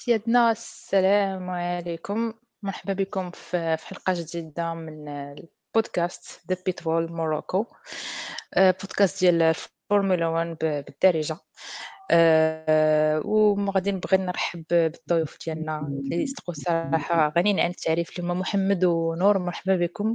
سيادنا السلام عليكم. مرحبا بكم في حلقة جديدة من البودكاست The Pitbull Morocco. بودكاست ديال الفورمولا 1 بالدارجة. وغادي نبغي نرحب بالضيوف ديالنا اللي صدقوا صراحة غنيين عن التعريف، اللي هما محمد ونور. مرحبا بكم.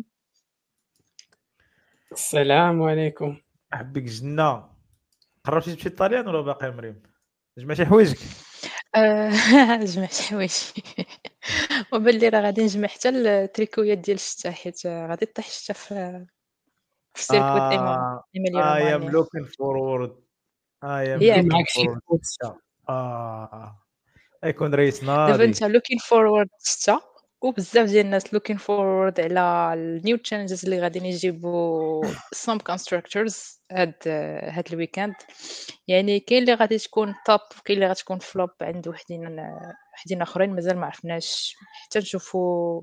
السلام عليكم. احبك جنة. قربتي تمشي للطاليان ولا باقي مريم؟ جمعتي حوايجك؟ جمعت حوايجي. وباللي راه غادي نجمع حتى التريكويات ديال الشتا، حيت غادي طيح الشتا في السيركويت ايميليا I am رومانيا. looking forward. I am ياك looking معك شي forward. كوتس. يكون رئيس دابا انت ناضي. looking forward الشتا، وبزاف ديال الناس looking forward على النيو تشالنجز اللي غادي يجيبوا some constructors هاد الويكاند. يعني كاين اللي غادي تكون توب وكاين اللي غتكون فلوب عند وحدين اخرين مازال ما عرفناش، حتى نشوفوا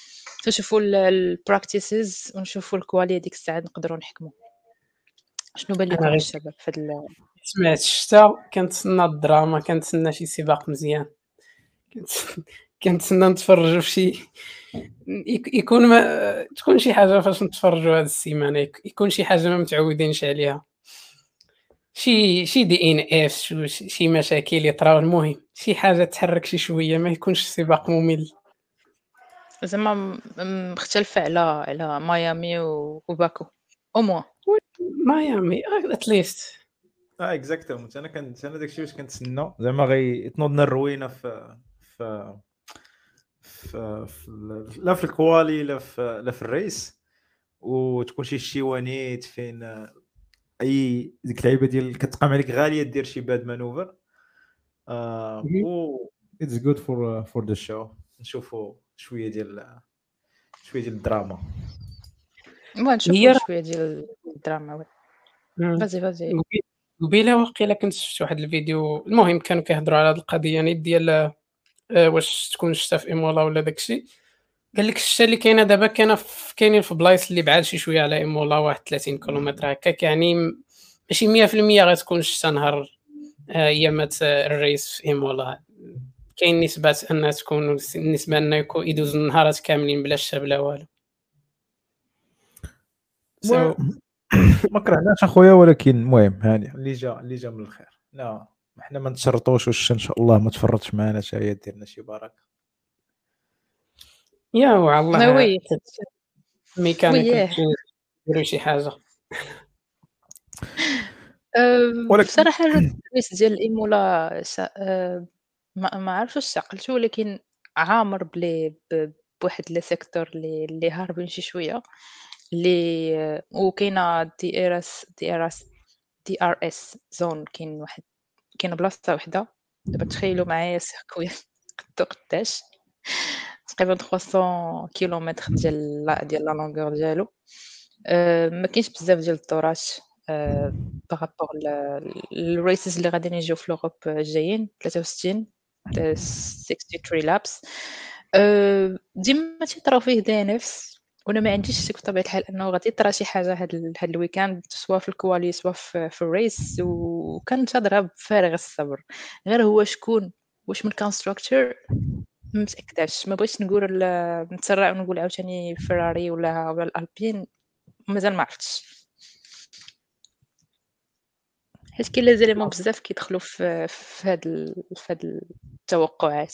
البراكتيسز ونشوفوا الكواليتي ديك الساعه نقدروا نحكموا. شنو بان انا لكم غير الشباب في هاد سمعت الشتا، كنتسنى الدراما، كنتسنى شي سباق مزيان، كنتسنى نتفرجوا في شي يكون ما تكون شي حاجه فاش نتفرجوا هاد السيمانه، يكون شي حاجه ما متعودينش عليها، شي دي ان اف، شي مشاكل يطراو. المهم شي حاجه تحرك شي شويه، ما يكونش سباق ممل. زعما مختلفه على ميامي وباكو او موان. ميامي اتليست. اكزاكتومون. انا داكشي واش كنتسنى، زعما غيتنوض لنا الروينه في لا في الكوالي لا في الريس، وتكون شي شيوانيت فين اي ديك اللعيبه ديال كتقام عليك غاليه دير شي باد مانوفر. و اتس جود فور ذا شو. نشوفوا شويه ديال الدراما. نشوفوا شويه ديال الدراما. وي فازي قبيله واقيلا كنت شفت واحد الفيديو، المهم كانوا كيهضروا على هاد القضيه يعني ديال واش تكون الشتا في ايمولا ولا داكشي. قال لك الشتا اللي كاينه دابا كاينين في بلايص اللي بعاد شي شويه على ايمولا، واحد 30 كيلومتر هكاك، يعني ماشي 100% غتكون الشتا نهار ايامات الريس في ايمولا. كاين نسبه انها تكون النسبه انه يدوزوا النهارات كاملين بلا الشتا بلا والو. ما كرهناش اخويا، ولكن المهم هاني اللي جا من الخير. لا حنا ما نتشرطوش، واش ان شاء الله ما تفرطش معنا حتى هي دير لنا شي بركه. يا والله وي ميكانيكال وي يديروا شي حاجه. ولكن بصراحه الريس ديال الايمولا ما عرفتش واش عقلتو، ولكن عامر بواحد لي سيكتور اللي هاربين شي شويه، اللي وكاينه دي ار اس زون. كاينه بلاصه وحده. دابا تخيلوا معايا سيركوي قداش تقريبا 300 كيلومتر ديال لا لونغور ديالو. ما كاينش بزاف ديال الدورات بارابور الريسز اللي غادي يجيو في لوروب الجايين 63 63 لابس. ديما تيطراو فيه دي نفس، وانا ما عنديش شك بطبيعه الحال انه غادي يطرا شي حاجه هاد الويكاند، سواء في الكوالي سواء في الريس. وكنتظرها بفارغ الصبر. غير هو شكون، واش من كونستراكتور ما متاكداش. ما بغيتش نتسرع ونقول عاوتاني فيراري ولا الالبين، مازال ما عرفتش، حيت كاين لي زيليمون بزاف كيدخلوا في هاد التوقعات.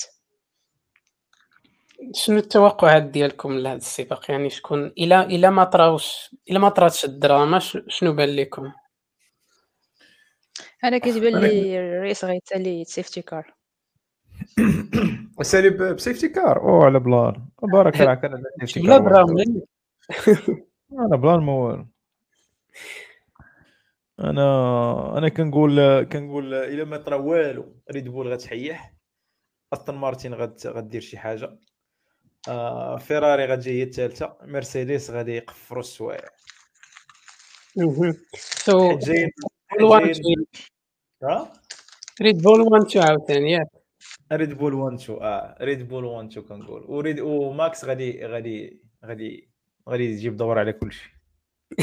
شنو التوقعات ديالكم لهذا السباق؟ يعني شكون الا ما طراتش الدراما، شنو بان لكم؟ انا كيتبان لي الرئيس غيتسالي سيفتي كار. سالي بسيفتي كار او على بلان بارك الله. كان سيفتي بلا كار واحد دراما. انا بلان ما والو. انا كنقول الا ما طرا والو ريد بول غتحيح، استون مارتين غدير شي حاجه، فيراري غتجي هي الثالثه، مرسيدس غادي يقفروا السوايع. سو حيت جايين ريد بول 1 2 عاوتاني ياك. ريد بول 1 2 ريد بول 1 2 كنقول، وماكس غادي يجيب دور على كل شيء.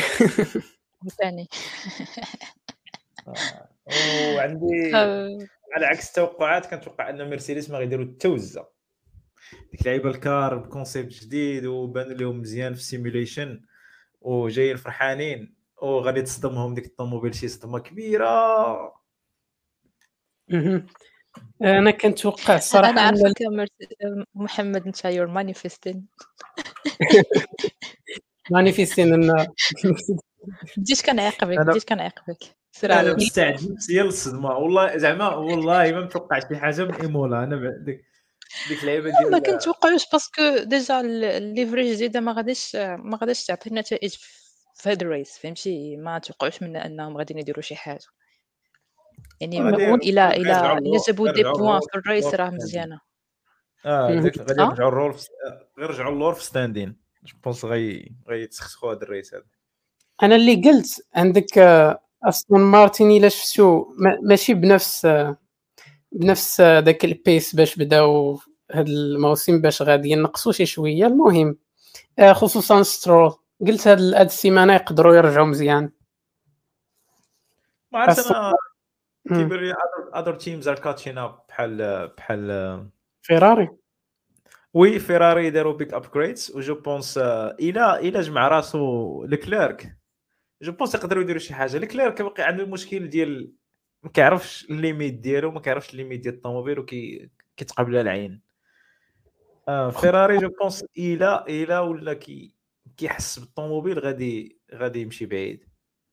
ثاني وعندي على عكس التوقعات كنتوقع ان مرسيدس ما غيديروا التوزه ديك لعيبه الكار بكونسيبت جديد وبان لهم مزيان في السيموليشن وجايين فرحانين وغادي تصدمهم ديك الطوموبيل شي صدمه كبيره. انا كنتوقع الصراحه أنا ان عارفاك محمد، أنت you're manifesting. مانيفيستين ان بديت كنعاقبك، انا سير لا على لا الله. مستعد نفسيا للصدمه والله زعما والله ما متوقع شي حاجه من ايمولا. انا ديك اللعيبه ما ديال كنتوقعوش باسكو ديجا الليفري الجديده ما غاديش تعطي نتائج في هاد الريس، فهمتي؟ ما توقعوش منا انهم غاديين يديروا شي حاجه، يعني غادي الا جابوا دي يرجعوا بوان الرول في الريس راه في ستاندين. مزيانه. ديك غادي اه يرجعوا الرول غير يرجعوا اللور في ستاندين. جو بونس غيتسخسخوا هذا الريس هذا. انا اللي قلت عندك استون مارتين الا شفتو ماشي بنفس داك البيس باش بداو هاد الموسم، باش غادي ينقصوا شي شويه. المهم خصوصا سترول قلت هاد السيمانه يقدروا يرجعوا مزيان. ما عرفت أستون انا مم. كيبان لي other teams are catching up بحال فيراري وي فيراري داروا بيك ابجريدز وجو بونس الى جمع راسو لكليرك جو بونس يقدروا يديروا شي حاجه. لكليرك باقي عنده المشكل ديال ما كيعرفش الليميت ديالو، ما كيعرفش الليميت ديال الطوموبيل كيتقابلها العين. فيراري جو بونس الى ولا كيحس بالطوموبيل غادي يمشي بعيد.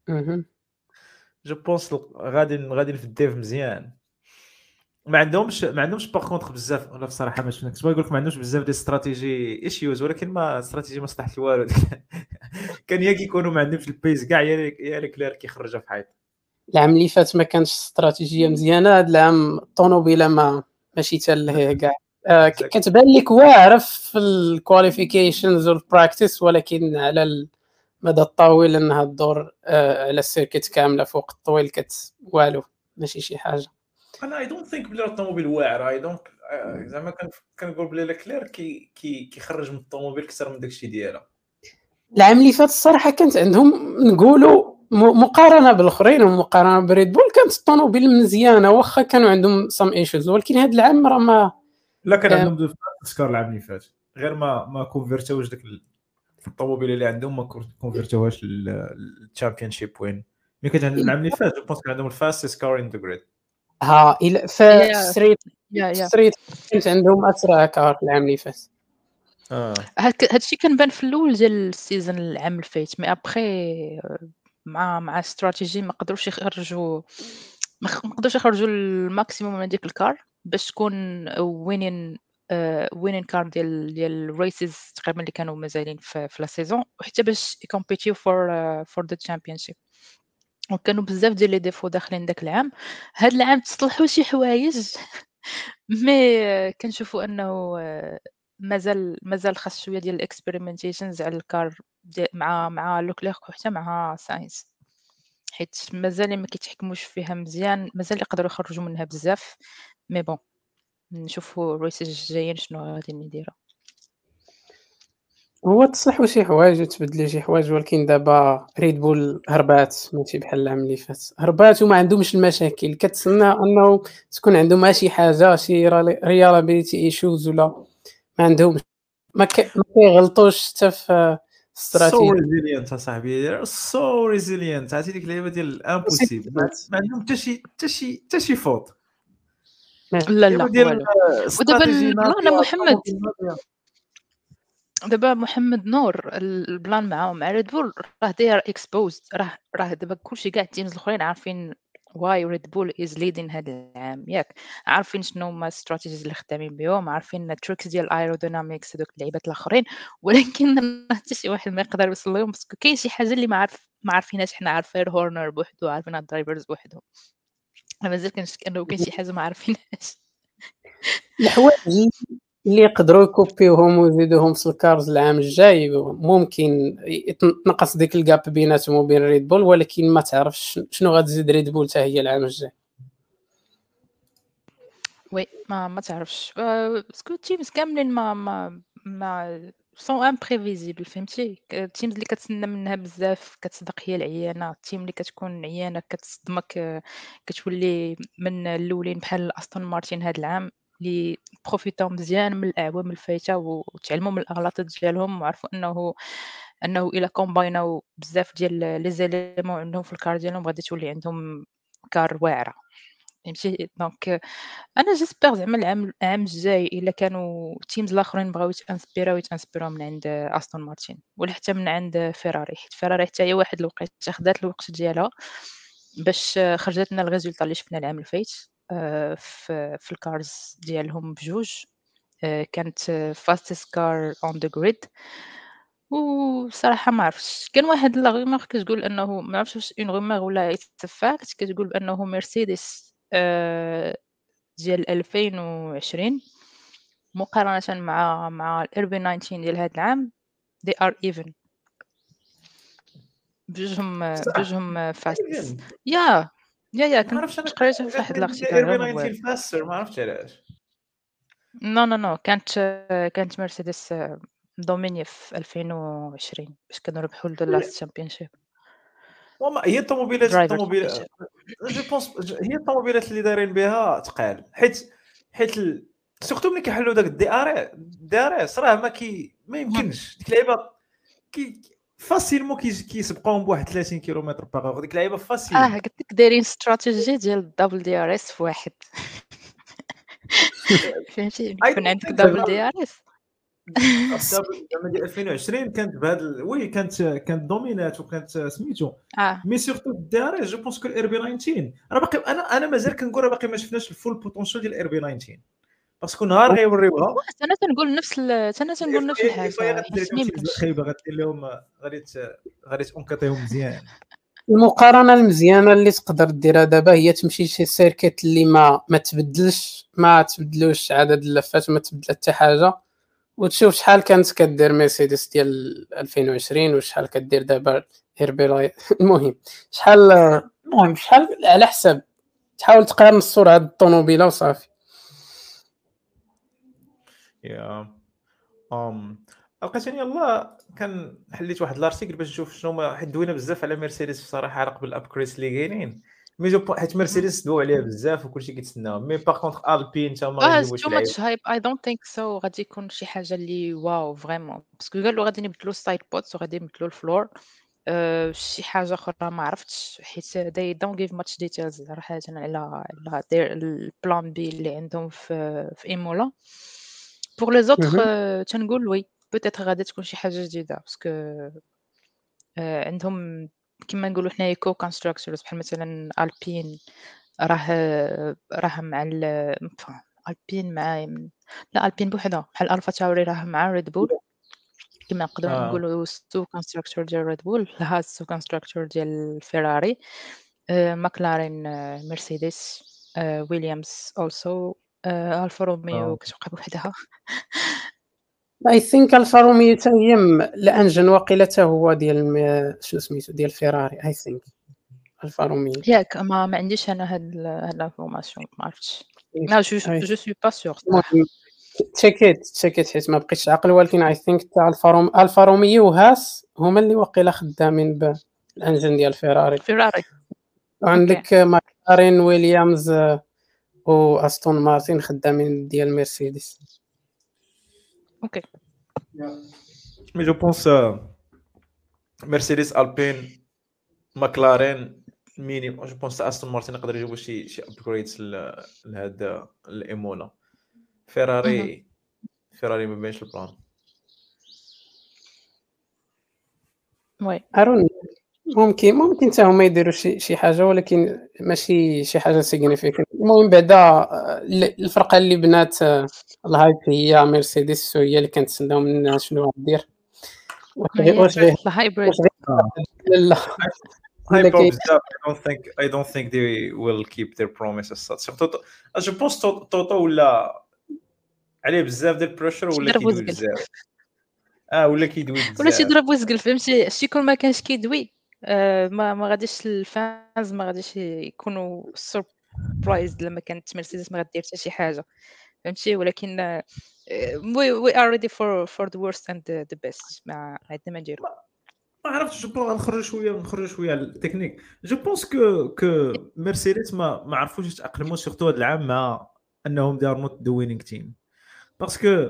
جو بونس غادي في الديف مزيان. ما عندهمش باغ كونطخ بزاف ولا بصراحه ما شفنا. كنت بغيت نقول لك ما عندهمش بزاف ديال استراتيجي ايشيوز، ولكن ما استراتيجي ما صلحت والو. كان يا كيكونوا ما عندهمش البيس كاع يا لكلير كيخرجها في حيط. العام اللي فات ما كانش استراتيجيه مزيانه، هذا العام الطوموبيله ماشي حتى لهيه كاع. كتبان لك واعره في الكواليفيكيشنز والبراكتيس، ولكن على المدى الطويل انها تدور على السيركت كامله فوق الطويل والو ماشي شي حاجه. انا اي دونت ثينك بلي الطوموبيل واعره. اي دونت زعما كنقول بلي لكلير كيخرج من الطوموبيل اكثر من داكشي ديالها. العام اللي فات الصراحه كانت عندهم نقولوا مقارنه بالاخرين ومقارنه بريد بول كانت الطوموبيل مزيانه، واخا كانوا عندهم سام ايشوز، ولكن هذا العام راه ما لا كان عندهم دو سكار العام اللي فات، غير ما كونفيرتوش داك الطوموبيل اللي عندهم ما كونفيرتوهاش للتشامبيون شيب وين. ملي كانت عندهم العام اللي فات جو بونس كان عندهم الفاست سكار ان ذا جريد. الى في ستريت كانت عندهم اسرع كار العام اللي فات. هادشي كنبان في الاول ديال السيزون العام اللي فات، مي ابخي مع استراتيجي ما قدروش يخرجوا الماكسيموم من ديك الكار باش تكون وينين كار ديال الريسز تقريبا اللي كانوا مازالين في لا سيزون، وحتى باش يكومبيتيو فور ذا تشامبيونشيب. وكانوا بزاف ديال لي ديفو داخلين داك العام. هاد العام تصلحوا شي حوايج مي كنشوفوا انه مازال خاص شويه ديال الاكسبيريمنتيشنز على الكار مع لوكليرك وحتى مع ساينس، حيت مازال ما كيتحكموش فيها مزيان، مازال يقدروا يخرجوا منها بزاف. مي بون نشوفوا الريسز الجايين شنو غادي نديروا. هو تصلحوا شي حوايج وتبدلوا شي حوايج، ولكن دابا ريد بول هربات ماشي بحال العام اللي فات، هربات وما عندهمش المشاكل. كتسنى انه تكون عندهم شي حاجه شي ريالابيليتي ايشوز ولا ما عندهمش، ما كيغلطوش حتى في سو استراتيجيه. ريزيلينت اصاحبي، سو ريزيلينت. عرفتي ديك اللعيبه ديال الامبوسيبل ما عندهم حتى شي فوت. لا اللعيبه ديال والو. ودابا استراتيجي البلان محمد نور البلان معاهم مع ريد بول راه داير اكسبوزد، راه دابا كلشي كاع التيمز الاخرين عارفين واي ريد بول از ليدين هذا العام، ياك عارفين شنو هما الاستراتيجيز اللي خدامين بهم، عارفين التريكس ديال الايرودينامكس هذوك اللعيبات الاخرين، ولكن حتى شي واحد ما يقدر يوصل لهم باسكو كاين شي حاجه اللي ما عارفينهاش. حنا عارفين هورنر بوحدو، عارفين الدرايفرز بوحدهم، مازال كنشك انه كاين شي حاجه ما عارفينهاش. الحوايج اللي يقدروا يكوبيوهم ويزيدوهم في الكارز العام الجاي ممكن تنقص ديك الجاب بيناتهم وبين ريد بول، ولكن ما تعرفش شنو غتزيد ريد بول حتى هي العام الجاي. وي ما تعرفش باسكو التيمز كاملين ما سون امبريفيزيبل فهمتي. التيمز اللي كتسنى منها بزاف كتصدق هي العيانه، التيم اللي كتكون عيانه كتصدمك، كتولي من الاولين بحال استون مارتين هذا العام اللي بروفيتاو مزيان من الاعوام الفايته وتعلموا من الاغلاط ديالهم وعرفوا انه الا كومبايناو بزاف ديال لي زيليمون عندهم في الكار ديالهم غادي تولي عندهم كار واعره فهمتي. دونك انا جيسبر زعما العام الجاي الا كانوا تيمز الاخرين بغاو يتانسبيراو من عند استون مارتين ولا حتى من عند فيراري، حيت فيراري حتى هي واحد الوقيته خدات الوقت ديالها باش خرجت لنا الريزولطا اللي شفنا العام الفايت في الكارز ديالهم بجوج. كانت فاستست كار اون ذا جريد. وصراحه ما عرفتش، كان واحد لا رومور كتقول انه ما عرفتش واش اون رومور ولا اتفاقت كتقول انه مرسيدس ديال 2020 مقارنة مع الRB 19 ديال هاد العام they are even صح بجوجهم فاستس. ايفن. يا ما كنت عرفتش انا قريتها في واحد الارتيكل ار بي غير موال. 19 فاستر، ما عرفتش علاش. نو كانت مرسيدس دوميني في 2020 باش كانوا ربحوا اللاست تشامبيونشيب وما هي درايفر الطوموبيلات تشامبيونشيب. جو بونس هي الطوموبيلات اللي دايرين بها تقال، حيت سورتو ملي كيحلوا داك دي ار اس راه ما يمكنش ديك اللعيبه فاسيلمون كيسبقوهم بواحد 30 كيلومتر باغ ديك اللعيبه فاسيل. قلت لك دايرين استراتيجي ديال الدبل دي ار اس في واحد فهمتي يكون عندك دبل دي ار اس. زعما ديال 2020 كانت بهذا وي كانت دومينات وكانت سميتو مي سورتو دي ار اس. جو بونس كو الار بي 19 راه باقي انا مازال كنقول راه باقي ما شفناش الفول بوتونسيال ديال الار بي 19 باسكو نهار غيوريوها انا تنقول نفس الحاجه غادير لهم حسني شي خايبه، غادير لهم غادي تونكطيهم مزيان. المقارنه المزيانه اللي تقدر ديرها دابا هي تمشي لشي سيركيت اللي ما تبدلوش عدد اللفات، ما تبدل حتى حاجه، وتشوف شحال كانت كدير مرسيدس ديال 2020 وشحال كدير دابا هيربيلاي. المهم شحال على حسب تحاول تقارن السرعه د الطوموبيله وصافي. يا لقيتني يلاه كان حليت واحد الارتيكل باش نشوف شنو ما حيت دوينا بزاف على مرسيدس بصراحه على قبل الابكريس اللي كاينين، مي حيت مرسيدس دو عليها بزاف وكلشي كيتسناو، مي باغ كونطخ البين تا هما غيجيبوا شي تو لعيبه. ماتش هايب اي دونت ثينك سو غادي يكون شي حاجه اللي واو فريمون باسكو قالوا غادي يبدلوا السايد بوتس وغادي يبدلوا الفلور. شي حاجه اخرى ما عرفتش حيت they don't give much details صراحه على البلان بي اللي عندهم في ايمولا. بور لي زوتر تنقول وي بوتيتر غادي تكون شي حاجه جديده باسكو عندهم كما نقولوا حنايا كو كونستراكتورز بحال مثلا البين راه مع البين مع لا البين بوحدها بحال الفا تاوري راه مع ريد بول كما نقدروا نقولوا سو كونستراكتور ديال ريد بول لها سو كونستراكتور ديال فيراري ماكلارين مرسيدس ويليامز اولسو الفا روميو كتبقى بوحدها. اي ثينك الفا روميو حتى هي الانجن واقيلا حتى هو ديال شنو سميتو ديال فيراري. اي ثينك الفا روميو ياك ما عنديش انا هاد الانفورماسيون ما عرفتش. لا جو سوي با سور صراحه. تشيكيت حيت ما بقيتش عاقل، ولكن اي ثينك تاع الفا روميو وهاس هما اللي واقيلا خدامين بالانجن ديال فيراري. وعندك ماكلارين ويليامز واستون مارتين خدامين ديال مرسيدس. اوكي مي جو بونس مرسيدس البين ماكلارين مينيموم. جو بونس استون مارتين يقدر يجيبوا شي ابجريدز لهذا الايمولا. فيراري ما بينش البلان. وي ارون ممكن حتى هما يديروا شي حاجه، ولكن ماشي شي حاجه سيغنيفيكانت. المهم بعدا الفرقه اللي بنات الهايب هي مرسيدس، وهي اللي كنتسناو منها شنو غدير. واش غير الهايبريد لا I don't think they will keep their promises. جو بونس توتو ولا عليه بزاف ديال البريشر ولا كيدوي بزاف. ولا كيدوي بزاف ولا تيضرب ويزقل فهمتي. شي كون ما كانش كيدوي ما غاديش الفانز ما غاديش يكونوا سوربرايز لما كانت مرسيدس ما غدير حتى شي حاجه. فهمتي. ولكن we are ready for the worst and the best. ما عندنا ما نديرو. ما عرفتش. جو نخرج شويه على التكنيك. جو بونس كو مرسيدس ما عرفوش يتاقلموا سورتو هذا العام مع انهم دي ار نوت ذا وينينغ تيم باسكو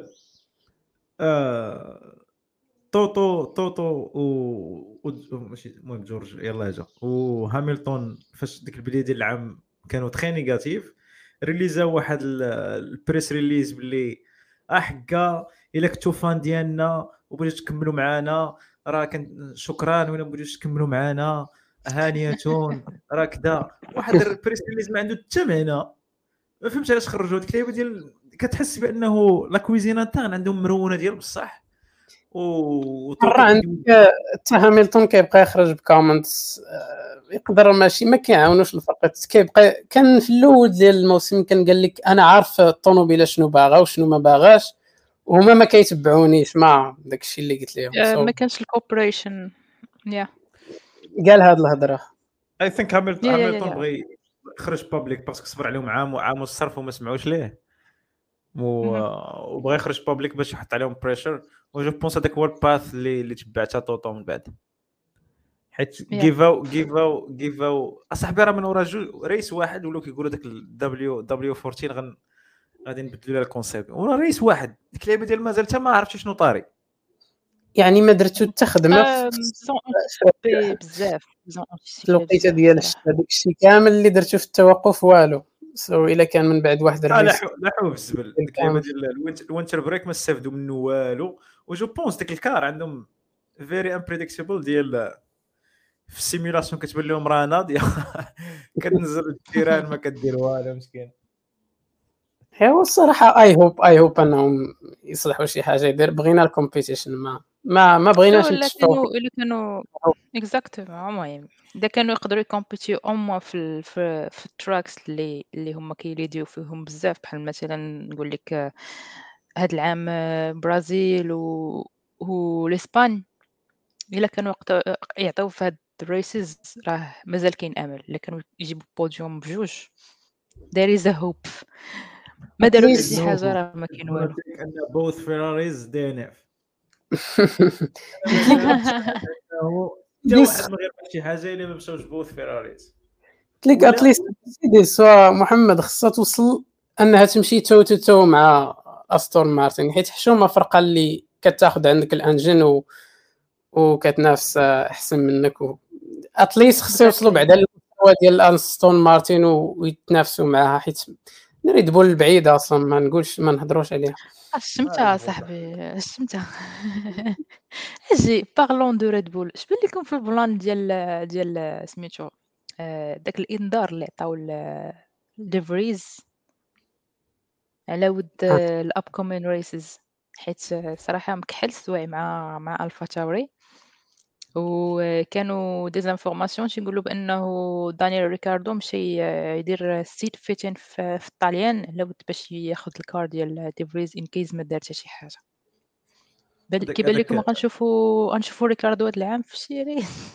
توتو ماشي المهم جورج يلاه جا وهامilton فاش ديك البدايه ديال العام كانوا تري نيجاتيف. ريليزاو واحد البريس ريليز باللي حكا الا كنتو فان ديالنا وبغيتو تكملوا معنا راه شكرا، ولا بغيتو تكملوا معنا هانيتون راه كذا. واحد البريس ريليز ما عنده حتى معنى. ما فهمتش علاش خرجوا هاد الكليبه ديال كتحس بانه لا كويزينا تاعنا عندهم مرونه ديال بصح مرة عندك حتى هامilton كيبقى يخرج بكومنتس يقدر ماشي ما كيعاونوش الفرق. كيبقى كان في الاول ديال الموسم كان قال لك انا عارف الطوموبيله شنو باغا وشنو ما باغاش وهما ما كيتبعونيش مع داكشي اللي قلت لهم. ما كانش الكوبريشن. قال هاد الهضره. اي ثينك هامilton بغى يخرج بابليك باسكو صبر عليهم عام والصرف وما سمعوش ليه وبغى يخرج بابليك باش يحط عليهم بريشر. وجو بونس هذاك هو الباث اللي تبعتها طوطو من بعد، حيت جيفاو اصاحبي راه من ورا رئيس واحد ولاو كيقولوا داك دبليو 14 غادي نبدلوا لها الكونسيبت ورا رئيس واحد. ديك اللعبه ديال مازال حتى ما عرفتش شنو طاري، يعني ما درتو حتى خدمه بزاف في الوقيته ديال هذاك الشيء كامل اللي درتو في التوقف والو. سو الا كان من بعد واحد الرئيس لا حو بالزبل. ديك اللعبه ديال الوينتر بريك ما استافدوا منه والو. وجو بونس ديك الكار عندهم فيري امبريديكتبل ديال في السيمولاسيون كتبان لهم راه ناضيه كتنزل الجيران ما كدير والو مسكين. هو الصراحه اي هوب انهم يصلحوا شي حاجه يدير. بغينا الكومبيتيشن ما بغيناش نتشوفوا الا كانوا اكزاكتومون. المهم اذا كانوا يقدروا يكومبيتيو اوموا في التراكس اللي هما كيريديو فيهم بزاف، بحال مثلا نقول لك هذا العام برازيل والاسبان، الا كانوا يعطيو في هاد الريسز راه مازال كاين امل. الا كانوا يجيبوا بوديوم بجوج there is a hope. ما داروا شي حاجه راه ما كاين والو. ان بوث فيراريز دي ان اف واحد ما غير شي حاجه الا ما مشاوش بوث فيراريز. قلت لك اتليست سيدي سوا محمد خصها توصل انها تمشي تو مع استون مارتن، حيت حشومه فرقه اللي كتاخذ عندك الانجن وكتنافس احسن منك. اتليست خصو يوصلوا بعدا للمستوى ديال استون مارتن ويتنافسوا معها، حيت ريد بول البعيده اصلا ما نقولش ما نهضروش عليها. الشمتة صاحبي الشمتة. اجي بارلون دو ريد بول، اش بان لكم في البلان ديال سميتو داك الانذار اللي عطاو ديفريز على ود الاب كومين ريسز؟ حيت صراحه مكحل السوايع مع الفا تاوري، وكانوا ديزانفورماسيون تيقولوا بانه دانيال ريكاردو مشى يدير سيت فيتين في الطاليان على ود باش ياخذ الكار ديال ديفريز ان كيز ما دار حتى شي حاجه. كيبان لكم غنشوفوا ريكاردو هذا العام في شي ريس؟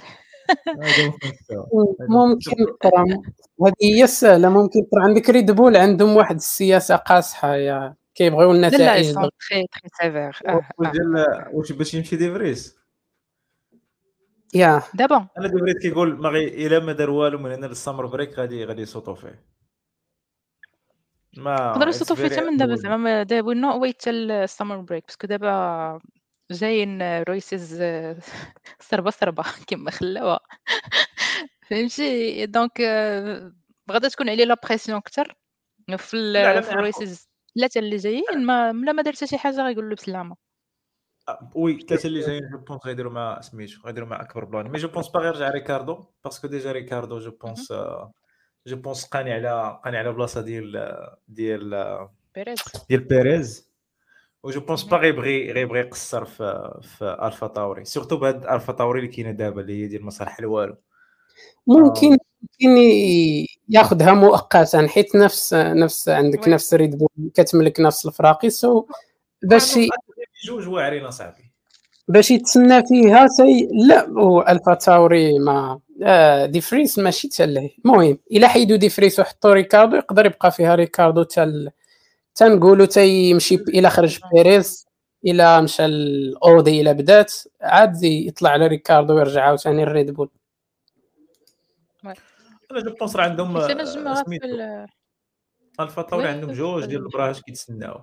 ممكن ترى هذه هي السهله. ممكن ترى عندك ريد بول عندهم واحد السياسه قاصحه يا كيبغيو النتائج لا تري سيفير. واش باش يمشي ديفريز يا دابا انا ديفريز كيقول ما الا ما دار والو من هنا للسمر بريك غادي يصوتوا فيه. ما نقدروا يصوتوا فيه من دابا زعما دابا نو ويت حتى السمر بريك، باسكو دابا جايين رويسز صربه كما خلاوها. فهمتي؟ دونك غادا تكون عليه لا بريسيون اكثر في الرويسز ثلاثه اللي جايين. ما دار حتى شي حاجه غيقول له بسلامه. وي ثلاثه اللي جايين جو بونس غيديروا مع سميتو غيديروا مع اكبر بلان. مي جو بونس باغي يرجع ريكاردو باسكو ديجا ريكاردو جو بونس قاني على بلاصه ديال بيريز. وجو بونس باغي يبغي يقصر في الفا تاوري، سورتو بهاد الفا تاوري اللي كاينه دابا اللي هي ديال مصالح الوالو. ممكن ياخذها مؤقتا، حيت نفس عندك نفس ريد بول كتملك نفس الفراقي. سو باش جوج واعرين اصاحبي باش يتسنى فيها لا هو الفا تاوري ما ديفريس ماشي حتى له. المهم الا حيدوا ديفريس وحطوا ريكاردو يقدر يبقى فيها ريكاردو تنقولوا تيمشي الى خرج بيريز الى مشى الاودي الى بدات عاد يطلع على ريكاردو ويرجع عاوتاني الريد بول. انا جو بونس راه عندهم حيت انا جمعها في سميتو الفا طوري عندهم وي جوج ديال البراهات كيتسناو.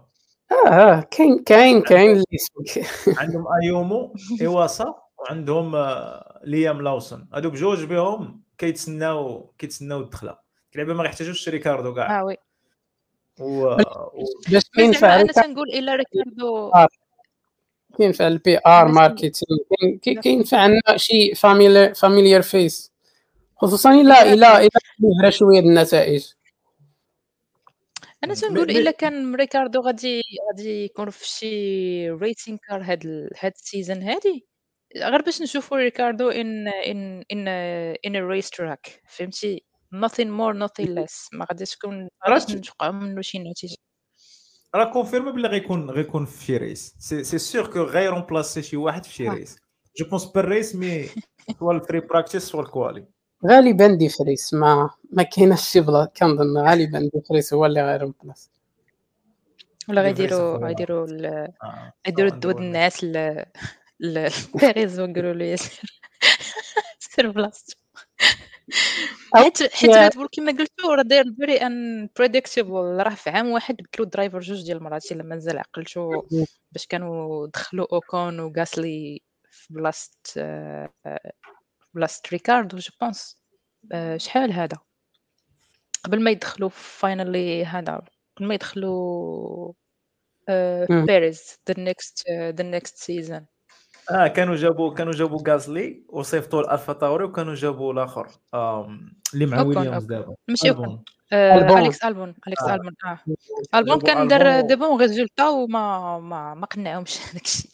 كاين اللي عندهم ايومو ايواسا وعندهم ليام لاوسون، هادو بجوج بهم كيتسناو الدخله. اللعبه ما يحتاجوش ريكاردو كاع وي و... باش مي كينفع زعما انا ريكاردو تنقول الا ريكاردو كينفع البي ار الا تن ماركتينغ كينفع عندنا شي فاميليار فيس خصوصا الا اكزاكتلي مهرة شويه النتائج. انا مي تنقول مي الا كان ريكاردو غادي يكون في شي ريسين كار هاد السيزون هادي غير باش نشوفوا ريكاردو in a race track فهمتي nothing more nothing less ما غاديش نتوقع منه شي نتيجه. راه كونفيرمي بلي غيكون في شي ريس، سي سيغ كو غيرومبلاسي شي واحد في شي ريس. جو بونس بير ريس مي سوا الفري براكتيس سوا الكوالي. غالبا دي فريس ما كايناش شي بلا كنظن غالبا دي فريس هو اللي غير بلاص ولا دي فريس غيديروا سوا الدود نديرو الناس لبيريز ويقولوا له سير بلاصتو حيت ريد بول كما قلتو راه داير فيري ان بريديكتيبل. راه في عام واحد بدلوا الدرايفر جوج ديال المرات الا مازال عقلتو باش كانوا دخلوا اوكون وغاسلي في بلاصه ريكاردو جو بونس شحال هذا قبل ما يدخلوا فاينالي هذا قبل ما يدخلوا بيريز the next season. كانوا جابوا غازلي وصيفطوا الالفا تاوري، وكانوا جابوا الاخر اللي مع اوكون ويليامز دابا ماشي اوكون البون. البون اليكس البون البون جابوا كان البون دار دي بون ريزولتا وما قنعهمش داكشي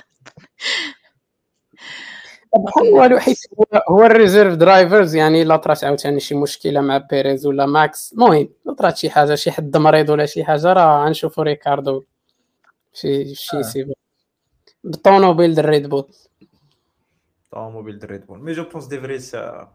بحال والو حيت هو الريزيرف درايفرز يعني لا طرات عاوتاني شي مشكله مع بيريز ولا ماكس المهم لا طرات شي حاجه شي حد مريض ولا شي حاجه راه غنشوفوا ريكاردو شي سيبو بالطونوبيل د الريد بول طوموبيل دريد بول. مي جو بونس دي فريس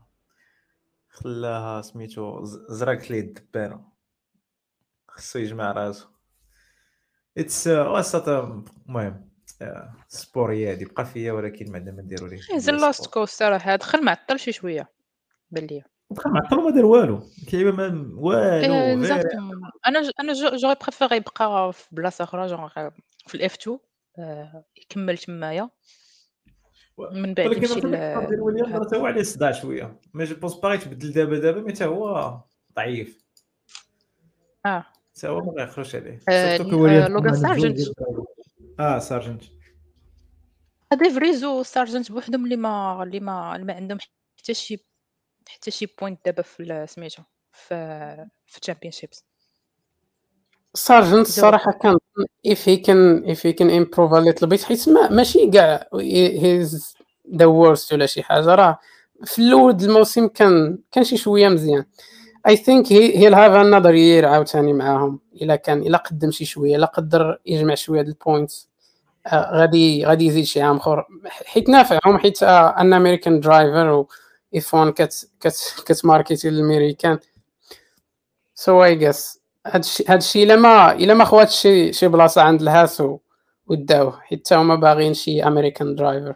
خلاها سميتو زرقت ليه الدبانه، خصو يجمع راسو. اتس وسط المهم سبور هادي بقى فيا، ولكن ما عندنا ما نديرو ليه زين لاست كوست صراحه دخل معطل شي شويه بان ليا بقى معطل وما دار والو، اللعيبه ما والو فيري. اكزاكتومون انا جوغي بريفيري يبقى في بلاصه اخرى جونغ في الاف 2 يكمل تمايا من بعد ولكن يمشي الفكره ديال ويليام راه تا هو عليه صداع شويه، مي جو بونس باغي تبدل دابا مي تا هو ضعيف، تا هو ما غيخرجش عليه سورتو كو ويليام لوغان عندهم جوج سارجنت ديال سارجنت. هادي فريزو سارجنت بوحدهم اللي ما عندهم حتى شي بوينت دابا في سميتو في الشامبيونشيبس. سارجنت الصراحه كان if he can improve a little bit حيت ماشي كاع هيز ذا worst ولا شي حاجه راه في الاول الموسم كان شي شويه مزيان. I think he'll have another year عاوتاني معاهم الا قدم شي شويه الا قدر يجمع شويه د البوينتس غادي يزيد شي عام اخر حيت نافعهم حيت ان امريكان درايفر و اف 1 كتماركيتي للامريكان سو اي جس هادشي الا ما خواتش شي بلاصه عند الهاس وداوه حيت هما باغيين شي امريكان درايفر.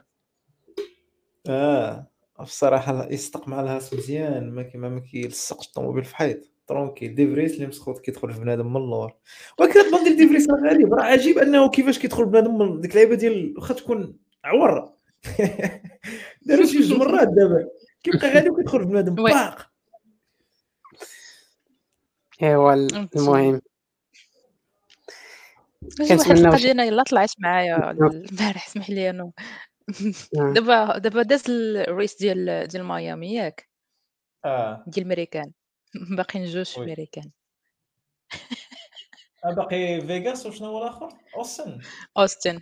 بصراحه يصدق مع الهاس مزيان، ما كيلصقش الطوموبيل في حيط ترونكيل. دي فريس اللي مسخوط كيدخل في بنادم من اللور، ولكن البلان ديال دي فريس راه غريب، راه عجيب انه كيفاش كيدخل بنادم من ديك اللعيبه ديال واخا تكون عور داروا شي جوج مرات دابا كيبقى غادي وكيدخل في بنادم باق. ايوا المهم واحد القضيه انا يلا طلعت معايا البارح اسمح لي انا دابا داز الريس ديال ميامي ياك ديال الميريكان باقيين جوج في الميريكان باقي فيغاس وشنو هو الاخر اوستن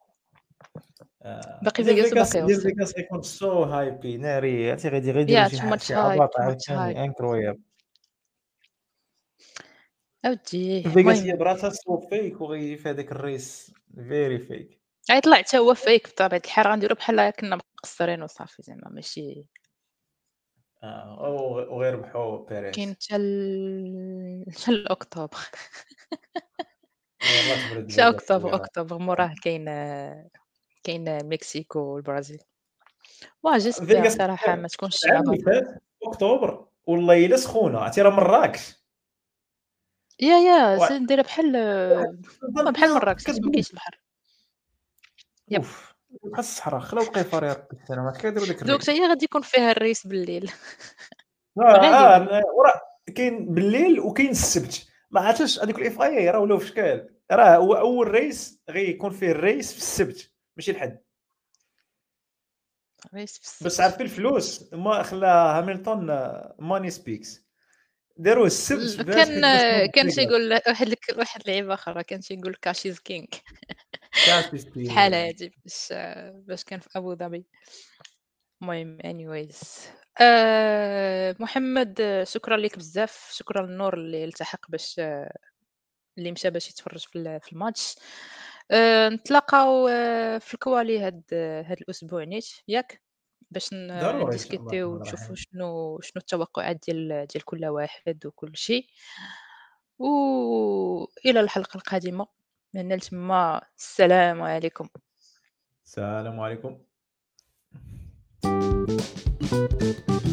باقي فيغاس وباقي ديال اوستن فيغاس غيكون سو هايبي ناري، عرفتي غيديروا شي عباط عاوتاني انكرويابل. اودي فيغاس هي براسها سو فيك وغيجي في هذاك الريس فيري فيك. غيطلع حتى هو فيك بطبيعه الحال غنديرو بحال كنا مقصرين وصافي زعما ماشي وغير بحو بيريز كاين حتى الاكتوبر يلاه تبرد شا الجو أكتوبر، شويه. أكتوبر موراه كاين المكسيك والبرازيل. جيسبر فيغاس صراحة ما تكونش العام صعيبة. اللي فات في اكتوبر والله الا سخونه، عرفتي راه مراكش واحد دايرة بحال بحال الدنيا مراكش حيت ما كتبرد. كاينش البحر. يب. اوف بحال الصحراء خلاو القفار يا ربي السلام، عرفتي كيديروا داك دوك حتى الريش. هي غادي يكون فيها الريس بالليل. غالبًا. وراه كاين بالليل وكاين السبت، ما عرفتش هذوك الاف اي راه ولاو في شكال، راه هو اول ريس غيكون فيه الريس في السبت ماشي الحد. الريس في باش السبت. تعرفي الفلوس ما خلا هامilton ماني سبيكس داروه السبت باش كان حيت باش كان تيقول واحد اللعيبة أخرى كان تيقول cash is king. في الحالة هادي باش كان في أبو ظبي. المهم anyways محمد شكرًا ليك بزاف، شكرًا لنور اللي التحق باش اللي مشى باش يتفرج في الماتش. نتلاقاو في الكوالي هاد الأسبوع نيت ياك؟ باش ضروري ان شاء الله نديسكوتيو الرحمن ونشوفوا الرحيم. شنو التوقعات ديال كل واحد وكل شيء. وإلى الحلقة القادمة. من هنا لتما السلام عليكم. السلام عليكم.